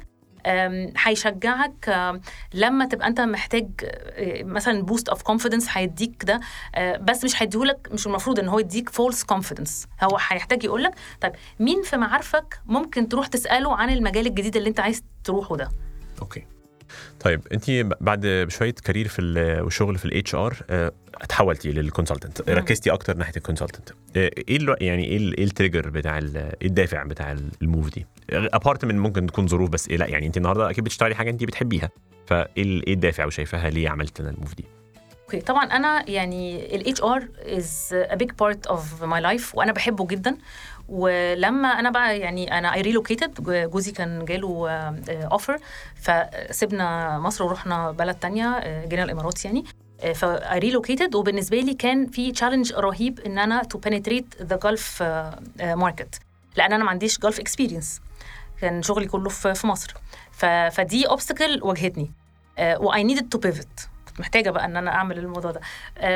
هيشجعك لما تبقى انت محتاج مثلا بوست اوف كونفيدنس هيديك ده، بس مش هيديهولك، مش المفروض ان هو يديك فولس كونفيدنس. هو هيحتاج يقولك طيب مين في معارفك ممكن تروح تسأله عن المجال الجديد اللي انت عايز تروحه ده. اوكي. طيب انت بعد شويه كارير في والشغل في الاتش ار اتحولتي للكونسلتنت، ركزتي اكتر ناحيه الكونسلتنت. ايه يعني ايه التريجر بتاع الدافع بتاع الموف دي؟ ابارت من ممكن تكون ظروف، بس لا يعني انت النهارده اكيد بتشتغلي حاجه انت بتحبيها، فايه الدافع وشايفاها ليه عملت لنا الموف دي؟ اوكي. طبعا انا يعني ال HR is a big part of my life وانا بحبه جدا. ولما انا بقى يعني انا I relocated، جوزي كان جاله offer فسبنا مصر ورحنا بلد تانية، جينا الامارات يعني. ف I relocated وبالنسبه لي كان في challenge رهيب ان انا to penetrate the Gulf market، لان انا ما عنديش جولف اكسبيرينس، كان شغلي كله في مصر. فدي اوبستكل واجهتني واي نيدد تو بيفت، كنت محتاجه بقى ان انا اعمل الموضوع ده.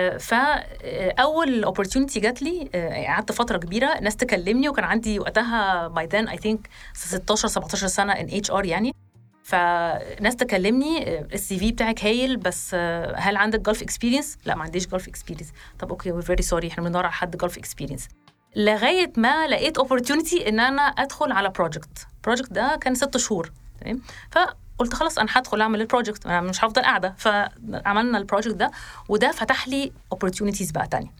فاول اوبورتيونيتي جات لي، قعدت فتره كبيره ناس تكلمني، وكان عندي وقتها باي ذن اي ثينك 16 17 سنه ان اتش ار يعني. فناس تكلمني السي في بتاعك هايل، بس هل عندك جولف اكسبيرينس؟ لا ما عنديش جولف اكسبيرينس. طب اوكي وي فيري سوري، احنا بندور على حد جولف اكسبيرينس. لغايه ما لقيت اوبورتيونيتي ان انا ادخل على بروجكت ده كان 6 شهور تمام. فقلت خلاص انا هدخل اعمل البروجكت، انا مش هفضل قاعده. فعملنا البروجكت ده، وده فتح لي اوبورتيونيتيز بقى تانية.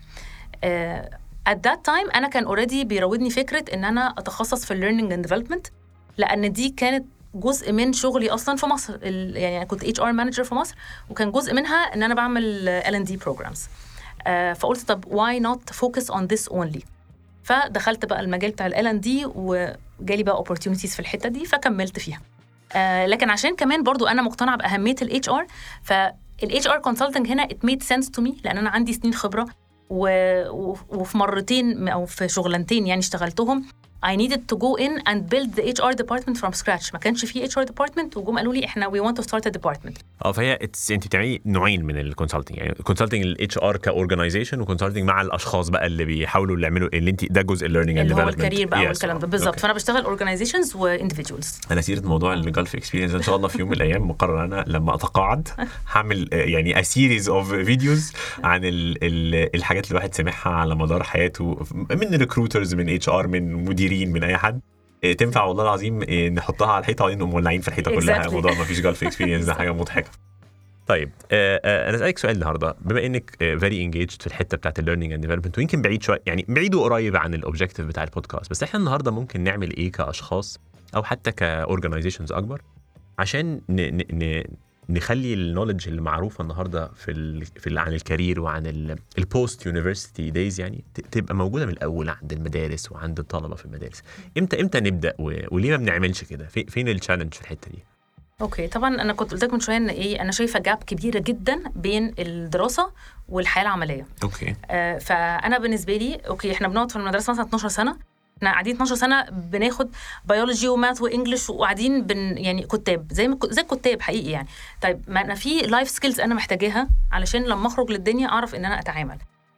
at that time انا كان اوريدي بيراودني فكره ان انا اتخصص في الليرنينج اند ديفلوبمنت، لان دي كانت جزء من شغلي اصلا في مصر. يعني انا كنت اتش ار مانجر في مصر، وكان جزء منها ان انا بعمل L&D programs. فقلت طب why not focus on this only. فدخلت بقى المجال بتاع L&D، وجالي بقى opportunities في الحته دي فكملت فيها. لكن عشان كمان برضو انا مقتنعه باهميه الاتش ار، فالاتش ار كونسلتنج هنا it made sense to me، لان انا عندي سنين خبره وفي مرتين او في شغلانتين يعني اشتغلتهم I needed to go in and build the HR department from scratch. ما كانش فيه HR department، وجم قالوا لي احنا we want to start a department. فهي انت بتعملي نوعين من الكونسلتنج، يعني كونسلتنج الاتش ار كاورجنايزيشن، وكونسلتنج مع الاشخاص بقى اللي بيحاولوا اللي يعملوا اللي انت ده جزء الليرنينج اند اللي هو ديفلوبمنت الكارير بقى والكلام ده بالظبط. فانا بشتغل اورجنايزيشنز وانديفيدوالز. انا سيره موضوع الجولف اكسبيرينس ان شاء الله في يوم من الايام مقرر انا لما اتقاعد هعمل يعني سيريز اوف فيديوز عن الحاجات اللي الواحد سمعها على مدار حياته من ريكروترز، من اتش ار، من مديرين، من اي حد تنفع والله العظيم نحطها على الحيطه ونقوم مولعين في الحيطه كلها. موضوع ما فيش جولف اكسبيرينس ده حاجه مضحكه. طيب انا اسالك سؤال النهارده، بما انك فيري انجيجد في الحته بتاعت الليرنينج اند ديفلوبمنت، ويمكن بعيد شويه يعني بعيد وقريب عن الاوبجيكتيف بتاع البودكاست، بس احنا النهارده ممكن نعمل ايه كاشخاص او حتى كاورجنايزيشنز اكبر عشان نخلي النولج اللي معروفه النهارده عن الكارير وعن البوست يونيفرسيتي دايز يعني تبقى موجوده من الاول عند المدارس وعند الطلبه في المدارس. امتى نبدا وليه ما بنعملش كده؟ فين التشالنج في الحته دي؟ اوكي طبعا انا كنت قلت لك من شويه ان انا شايفه جاب كبيره جدا بين الدراسه والحياه العمليه. اوكي فانا بالنسبه لي اوكي احنا بنقعد في المدرسه مثلا 12 سنه، احنا قاعدين 12 سنه بناخد بيولوجي وماث وانجلش، وقاعدين يعني كتاب زي الكتاب حقيقي يعني. طيب ما انا في لايف سكيلز انا محتاجاها علشان لما اخرج للدنيا اعرف ان انا اتعامل.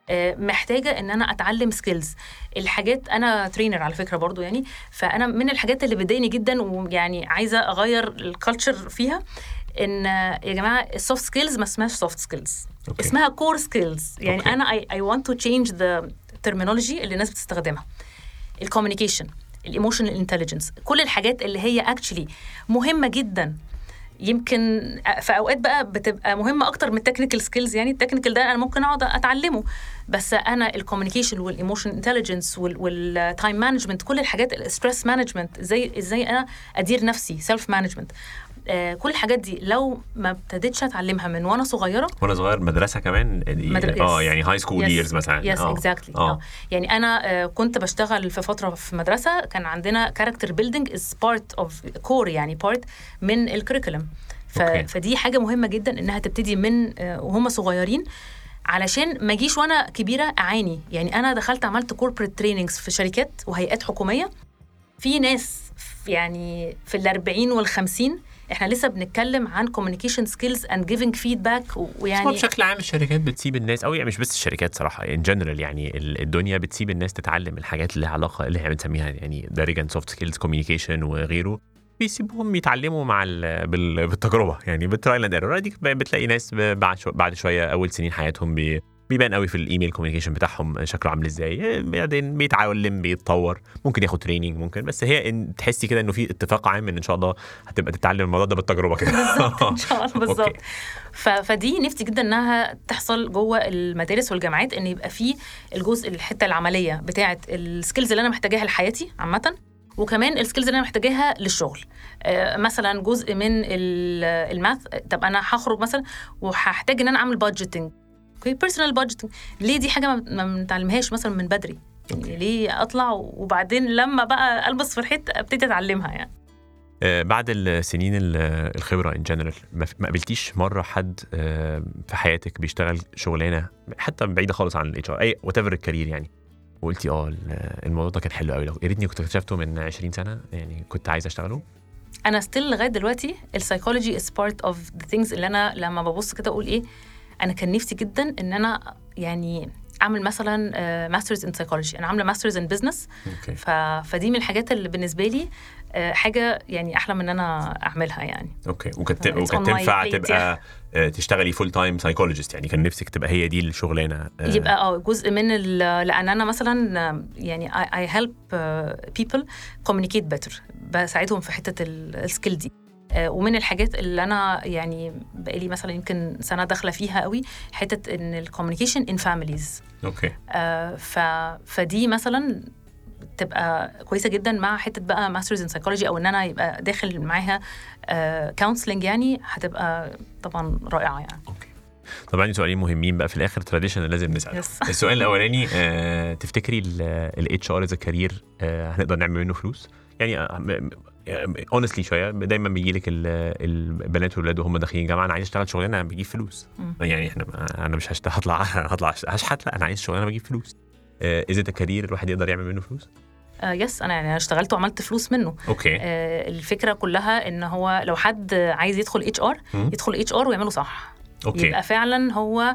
محتاجه ان انا اتعلم سكيلز. الحاجات انا ترينر على فكره برضو يعني، فانا من الحاجات اللي بتضايقني جدا ويعني عايزه اغير الكالتشر فيها، ان يا جماعه السوفت سكيلز ما اسمهاش سوفت سكيلز، اسمها كور سكيلز. يعني انا اي ونت تو تشينج ذا ترمينولوجي اللي الناس بتستخدمها. الكوميونيكيشن، الايموشنال انتليجنس، كل الحاجات اللي هي اكشلي مهمه جدا، يمكن في اوقات بقى بتبقى مهمه اكتر من التكنيكال سكيلز. يعني التكنيكال ده انا ممكن اقعد اتعلمه، بس انا الكوميونيكيشن والايموشن انتليجنس والتايم مانجمنت، كل الحاجات الستريس مانجمنت، ازاي انا ادير نفسي، سيلف مانجمنت، كل الحاجات دي لو ما ابتديتش اتعلمها من وانا صغيره مدرسه كمان يعني هاي سكول ييرز مثلا. يس اكزاكتلي. يعني انا كنت بشتغل في فتره في مدرسه كان عندنا كاركتر بيلدينج از بارت اوف كور، يعني بارت من الكريكولم. فدي حاجه مهمه جدا انها تبتدي من وهم صغيرين، علشان ما اجيش وانا كبيره اعاني. يعني انا دخلت عملت كوربريت تريننجز في شركات وهيئات حكوميه، في ناس يعني في ال40 وال50 احنا لسه بنتكلم عن communication skills and giving feedback. ويعني بشكل عام الشركات بتسيب الناس، او يعني مش بس الشركات صراحه، in general يعني الدنيا بتسيب الناس تتعلم الحاجات اللي لها علاقه اللي احنا بنسميها يعني دارجا سوفت سكيلز، communication وغيره، بيسيبوهم يتعلموا مع بالتجربه، يعني بالترايل اند ايرور. دي بتلاقي ناس بعد شويه اول سنين حياتهم بيبان قوي في الايميل كوميونيكيشن بتاعهم شكله عامل ازاي، بعدين بيتعلم بيتطور، ممكن ياخد تريننج، ممكن، بس هي تحسي كده انه في اتفاق عام ان شاء الله هتبقى تتعلم الموضوع ده بالتجربه كده. بالظبط ان شاء الله بالظبط. فدي نفسي جدا انها تحصل جوه المدارس والجامعات، ان يبقى في الجزء الحته العمليه بتاعه السكيلز اللي انا محتاجاها لحياتي عامه، وكمان السكيلز اللي انا محتاجاها للشغل. مثلا جزء من الماث، طب انا هخرج مثلا وهحتاج ان انا اعمل بادجيتنج، بيرسونال بادجيتنج، ليه دي حاجه ما بنتعلمهاش مثلا من بدري؟ يعني ليه اطلع وبعدين لما بقى البس في الحيط ابتدي اتعلمها يعني. بعد السنين الخبره ان جنرال، ما قابلتيش مره حد في حياتك بيشتغل شغلانه حتى بعيده خالص عن الاتش ار، اي وات ايفر الكارير، يعني وقلتي الموضوع ده كان حلو قوي، لو يا ريتني كنت اكتشفته من 20 سنه يعني كنت عايز اشتغله. انا ستيل لغايه دلوقتي السايكولوجي از بارت اوف ذا ثينجز اللي انا لما ببص كده اقول ايه، انا كان نفسي جدا ان انا يعني اعمل مثلا ماسترز ان سايكولوجي. انا عامله ماسترز ان بزنس، فدي من الحاجات اللي بالنسبه لي حاجه يعني احلى من ان انا اعملها يعني. اوكي. وكانت تنفع تبقى تشتغلي فول تايم سايكولوجيست يعني؟ كان نفسك تبقى هي دي الشغلانه؟ يبقى جزء من لان انا مثلا يعني I help people communicate better، بساعدهم في حته السكيل دي. ومن الحاجات اللي انا يعني بقالي مثلا يمكن سنه داخله فيها قوي حته ان الكوميونيكيشن ان فاميليز. اوكي. فدي مثلا تبقى كويسه جدا مع حته بقى ماسترز ان سايكولوجي، او ان انا يبقى داخل معاها كونسلنج يعني، هتبقى طبعا رائعه يعني. اوكي. طبعا سؤالين مهمين بقى في الاخر تراديشن لازم نسال. السؤال الاولاني، تفتكري الاتش ار از كارير هنقدر نعمل منه فلوس؟ يعني اونستلي شويه دايما بيجي لك البنات والولاد وهم داخلين جامعه، انا عايز اشتغل شغلانه بجيب فلوس. يعني انا مش هطلع اشحت، لا انا عايز شغلانه بجيب فلوس. اذا ده كارير الواحد يقدر يعمل منه فلوس؟ يس، انا اشتغلت وعملت فلوس منه. اوكي. الفكره كلها ان هو لو حد عايز يدخل اتش ار يدخل اتش ار ويعمله صح. أوكي. يبقى فعلا هو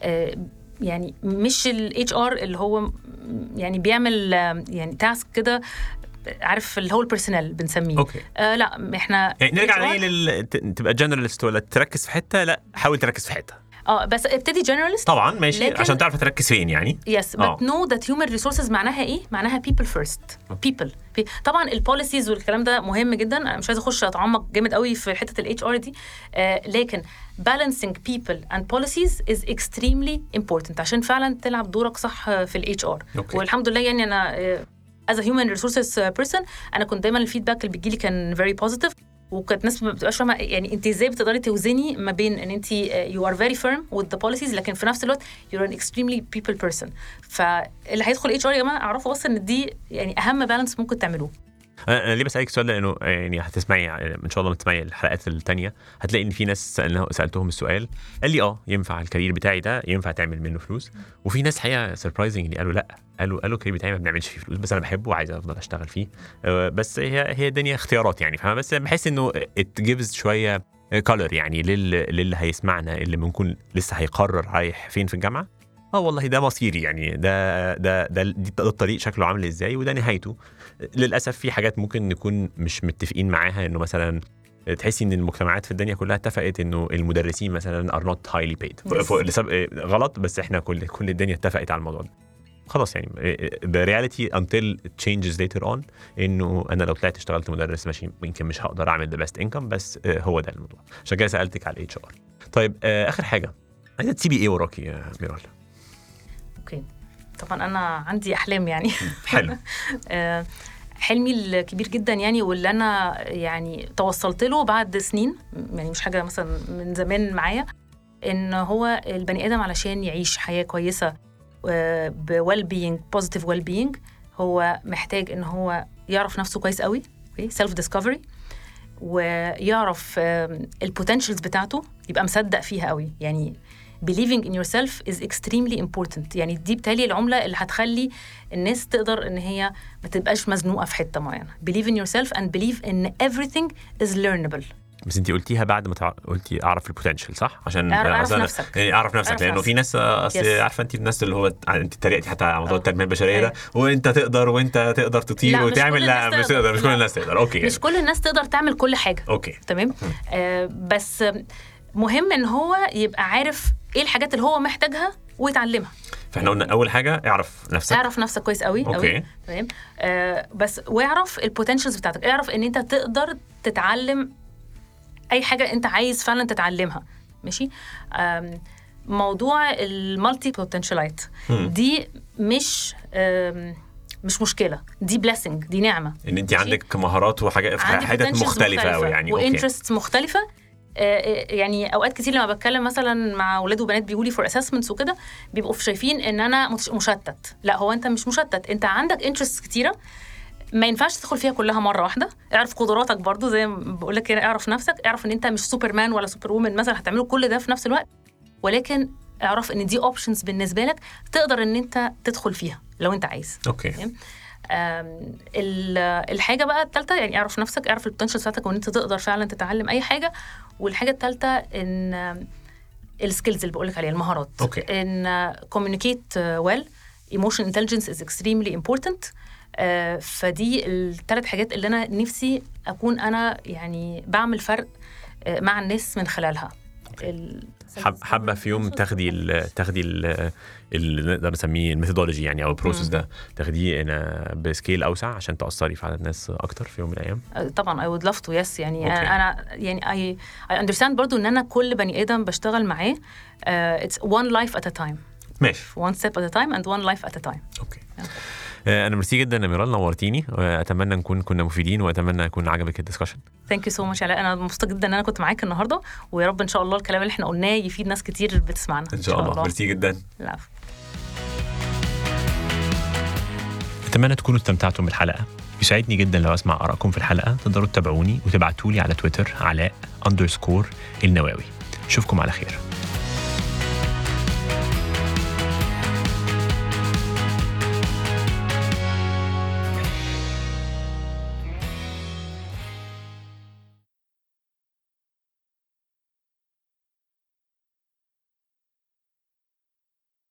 يعني مش الاتش ار اللي هو يعني بيعمل يعني تاسك كده، عارف اللي هو البيرسونال بنسميه. اوكي. لا احنا يعني نرجع تبقى جنراليست ولا تركز في حته؟ لا حاول تركز في حته. بس ابتدي جنراليست طبعا ماشي عشان تعرف تركز فين يعني. يس but know that human resources معناها ايه؟ معناها people first. people طبعا البوليسيز والكلام ده مهم جدا، انا مش عايزه اخش اتعمق جامد قوي في حته الاتش ار دي، لكن balancing people and policies is extremely important عشان فعلا تلعب دورك صح في الاتش ار. والحمد لله يعني انا as a human resources person انا كنت دايما الفيدباك اللي بيجي لي كان very positive، وكانت ناس ما بتبقاش فاهمه يعني انت ازاي بتقدري توزني ما بين ان انت you are very firm with the policies لكن في نفس الوقت you're an extremely people person. فاللي هيدخل اتش ار يا جماعه اعرفوا بس ان دي يعني اهم بالانس ممكن تعملوه. انا ليه بسالك السؤال ده؟ لانه يعني هتسمعي ان شاء الله تسمعي الحلقات الثانيه هتلاقي ان في ناس سالتهم السؤال قال لي ينفع الكارير بتاعي ده ينفع تعمل منه فلوس، وفي ناس حقيقه سربرايزنج قالوا لا، قالوا الكارير بتاعي ما بنعملش فيه فلوس بس انا بحبه وعايز افضل اشتغل فيه. بس هي الدنيا اختيارات يعني، فاهمه؟ بس بحس انه it gives شويه color يعني للي هيسمعنا، اللي ممكن لسه هيقرر رايح فين في الجامعه. والله ده مصيري يعني، ده الطريق شكله عامل ازاي وده نهايته. للاسف في حاجات ممكن نكون مش متفقين معاها، انه مثلا تحسي ان المجتمعات في الدنيا كلها اتفقت انه المدرسين مثلا are not highly paid غلط، بس احنا كل الدنيا اتفقت على الموضوع ده. خلاص يعني the reality until it changes later on انه انا لو طلعت اشتغلت مدرس ماشي يمكن مش هقدر اعمل the best income، بس هو ده الموضوع. عشان كده سالتك على الاتش ار. طيب اخر حاجه، عايزه تسيبي ايه وراكي يا ميرال؟ اوكي طبعا انا عندي احلام يعني. حلو. حلمي الكبير جدا يعني، واللي انا يعني توصلت له بعد سنين يعني، مش حاجه مثلا من زمان معايا، ان هو البني ادم علشان يعيش حياه كويسه بويل بينج بوزيتيف ويل بينج هو محتاج ان هو يعرف نفسه كويس قوي، سيلف ديسكفري، ويعرف البوتنشلز بتاعته، يبقى مصدق فيها قوي يعني. believing in yourself is extremely important يعني. دي بتالي العملة اللي هتخلي الناس تقدر ان هي ما تبقاش مزنوقة في حتة معينة. believe in yourself and believe in everything is learnable. بس انتي قلتيها بعد ما قلتي اعرف البوتنشل، صح؟ عشان اعرف نفسك يعني اعرف نفسك، لانه في ناس عارفه انت الناس اللي هو انت اتريقتي حتى على موضوع التنميه البشريه ده، وانت تقدر وانت تقدر تطير وتعمل. لا مش تقدر، مش كل الناس تقدر. اوكي مش كل الناس تقدر تعمل كل حاجه. اوكي تمام. بس مهم ان هو يبقى عارف ايه الحاجات اللي هو محتاجها ويتعلمها. فاحنا قلنا اول حاجه اعرف نفسك كويس قوي. أوكي. تمام. بس واعرف البوتنشلز بتاعتك، اعرف ان انت تقدر تتعلم اي حاجه انت عايز فعلا تتعلمها. ماشي. موضوع المالتي بوتنشالايت دي مش مشكله، دي بليسنج، دي نعمه ان انت عندك مهارات وحاجات في حاجات مختلفه قوي يعني، وانترستس مختلفه. يعني اوقات كتير لما بتكلم مثلا مع اولاد وبنات بيقولوا لي فور اسسمنتس وكده، بيبقوا شايفين ان انا مشتت. لا، هو انت مش مشتت، انت عندك انترستس كتيره، ما ينفعش تدخل فيها كلها مره واحده. اعرف قدراتك برضو زي ما بقول لك كده، اعرف نفسك، اعرف ان انت مش سوبرمان ولا سوبر وومن مثلا هتعملوا كل ده في نفس الوقت، ولكن اعرف ان دي اوبشنز بالنسبه لك تقدر ان انت تدخل فيها. لو انت عايز. اوكي. الحاجه بقى الثالثه يعني اعرف نفسك، اعرف البوتنشال بتاعتك وان انت تقدر فعلا تتعلم اي حاجه. والحاجه الثالثه ان السكيلز اللي بقولك عليها، المهارات. ان communicate well, emotional intelligence is extremely important. فدي الثلاث حاجات اللي انا نفسي اكون انا يعني بعمل فرق مع الناس من خلالها. حابه في يوم تاخدي اللي نقدر نسميه الميثودولوجي يعني او البروسيس ده، تاخديه بسكيل اوسع عشان تاثري في عدد ناس اكتر في يوم من الايام؟ طبعا I would love to. yes يعني انا يعني I understand برضو ان انا كل بني ادم بشتغل معاه it's one life at a time. ماشي. one step at a time and one life at a time. اوكي. انا ميرسي جدا يا ميرال، نورتيني، واتمنى نكون كنا مفيدين، واتمنى يكون عجبك الدسكشن. ثانك يو سو ماتش علاء، انا مبسوطه جدا ان انا كنت معاك النهارده، ويا رب ان شاء الله الكلام اللي احنا قلناه يفيد ناس كتير بتسمعنا ان شاء الله. ميرسي جدا. العفو. اتمنى تكونوا استمتعتم بالحلقه. يسعدني جدا لو اسمع ارائكم في الحلقه. تقدروا تتابعوني وتبعتوا لي على تويتر علاء_النواوي. اشوفكم على خير.